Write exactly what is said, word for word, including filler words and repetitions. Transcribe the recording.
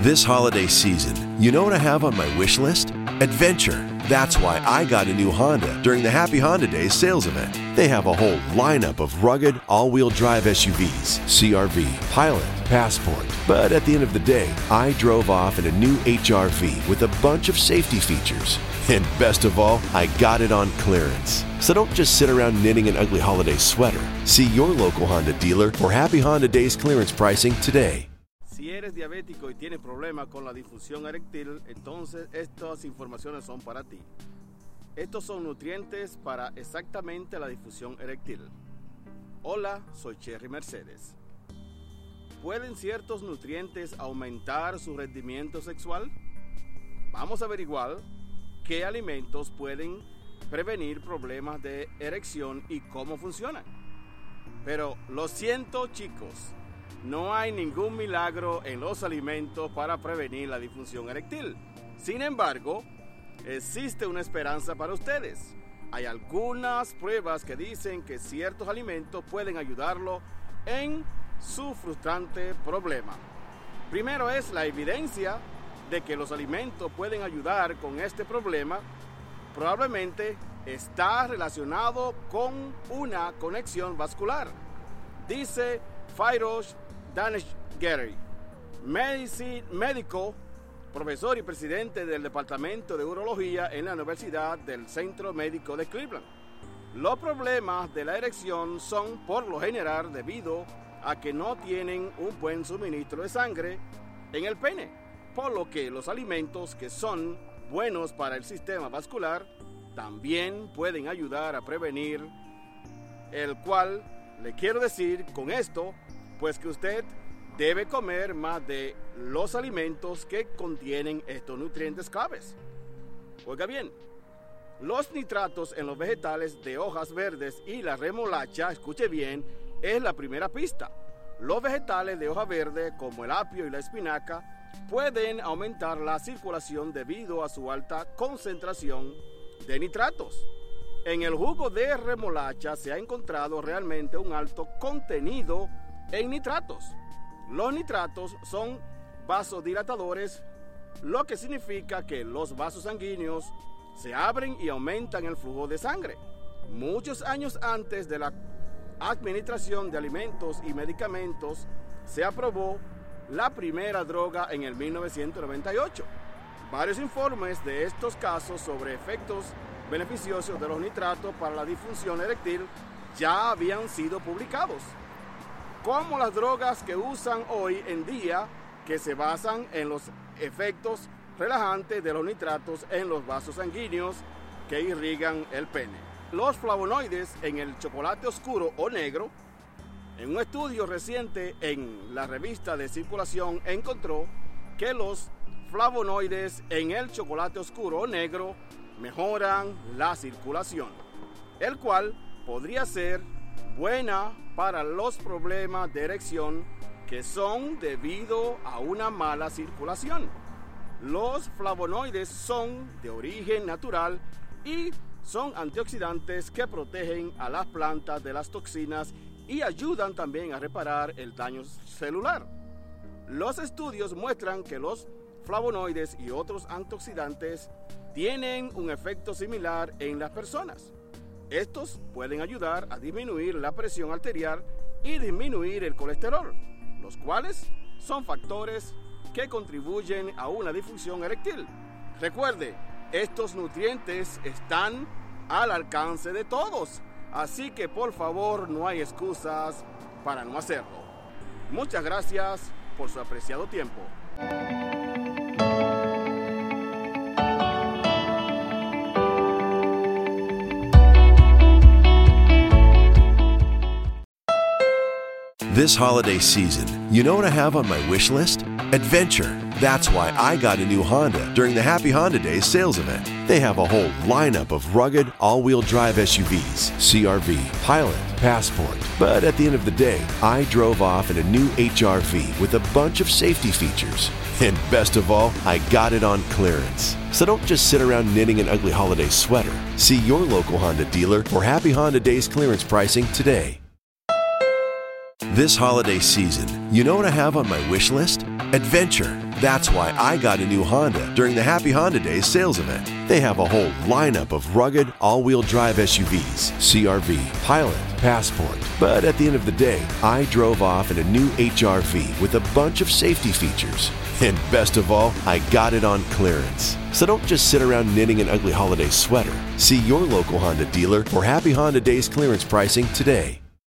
This holiday season, you know what I have on my wish list? Adventure. That's why I got a new Honda during the Happy Honda Days sales event. They have a whole lineup of rugged, all-wheel drive S U Vs, C R V, Pilot, Passport. But at the end of the day, I drove off in a new H R V with a bunch of safety features. And best of all, I got it on clearance. So don't just sit around knitting an ugly holiday sweater. See your local Honda dealer for Happy Honda Days clearance pricing today. Si eres diabético y tienes problemas con la disfunción eréctil, entonces estas informaciones son para ti. Estos son nutrientes para exactamente la disfunción eréctil. Hola, soy Cherry Mercedes. ¿Pueden ciertos nutrientes aumentar su rendimiento sexual? Vamos a averiguar qué alimentos pueden prevenir problemas de erección y cómo funcionan. Pero lo siento, chicos, no hay ningún milagro en los alimentos para prevenir la disfunción eréctil. Sin embargo, existe una esperanza para ustedes. Hay algunas pruebas que dicen que ciertos alimentos pueden ayudarlo en su frustrante problema. Primero es la evidencia de que los alimentos pueden ayudar con este problema. Probablemente está relacionado con una conexión vascular, dice Firoz Daneshgeri, médico, profesor y presidente del Departamento de Urología en la Universidad del Centro Médico de Cleveland. Los problemas de la erección son por lo general debido a que no tienen un buen suministro de sangre en el pene, por lo que los alimentos que son buenos para el sistema vascular también pueden ayudar a prevenir, el cual le quiero decir con esto, pues que usted debe comer más de los alimentos que contienen estos nutrientes claves. Oiga bien, los nitratos en los vegetales de hojas verdes y la remolacha, escuche bien, es la primera pista. Los vegetales de hoja verde, como el apio y la espinaca, pueden aumentar la circulación debido a su alta concentración de nitratos. En el jugo de remolacha se ha encontrado realmente un alto contenido en nitratos. Los nitratos son vasodilatadores, lo que significa que los vasos sanguíneos se abren y aumentan el flujo de sangre. Muchos años antes de la administración de alimentos y medicamentos, se aprobó la primera droga en el mil novecientos noventa y ocho. Varios informes de estos casos sobre efectos beneficiosos de los nitratos para la disfunción eréctil ya habían sido publicados, como las drogas que usan hoy en día, que se basan en los efectos relajantes de los nitratos en los vasos sanguíneos que irrigan el pene. Los flavonoides en el chocolate oscuro o negro. En un estudio reciente en la revista de circulación encontró que los flavonoides en el chocolate oscuro o negro mejoran la circulación, el cual podría ser buena para los problemas de erección que son debido a una mala circulación. Los flavonoides son de origen natural y son antioxidantes que protegen a las plantas de las toxinas y ayudan también a reparar el daño celular. Los estudios muestran que los flavonoides y otros antioxidantes tienen un efecto similar en las personas. Estos pueden ayudar a disminuir la presión arterial y disminuir el colesterol, los cuales son factores que contribuyen a una disfunción eréctil. Recuerde, estos nutrientes están al alcance de todos, así que por favor no hay excusas para no hacerlo. Muchas gracias por su apreciado tiempo. This holiday season, you know what I have on my wish list? Adventure. That's why I got a new Honda during the Happy Honda Days sales event. They have a whole lineup of rugged, all-wheel drive S U Vs, C R V, Pilot, Passport. But at the end of the day, I drove off in a new H R V with a bunch of safety features. And best of all, I got it on clearance. So don't just sit around knitting an ugly holiday sweater. See your local Honda dealer for Happy Honda Days clearance pricing today. This holiday season, you know what I have on my wish list? Adventure. That's why I got a new Honda during the Happy Honda Days sales event. They have a whole lineup of rugged, all-wheel drive S U Vs, C R V, Pilot, Passport. But at the end of the day, I drove off in a new H R V with a bunch of safety features. And best of all, I got it on clearance. So don't just sit around knitting an ugly holiday sweater. See your local Honda dealer for Happy Honda Days clearance pricing today.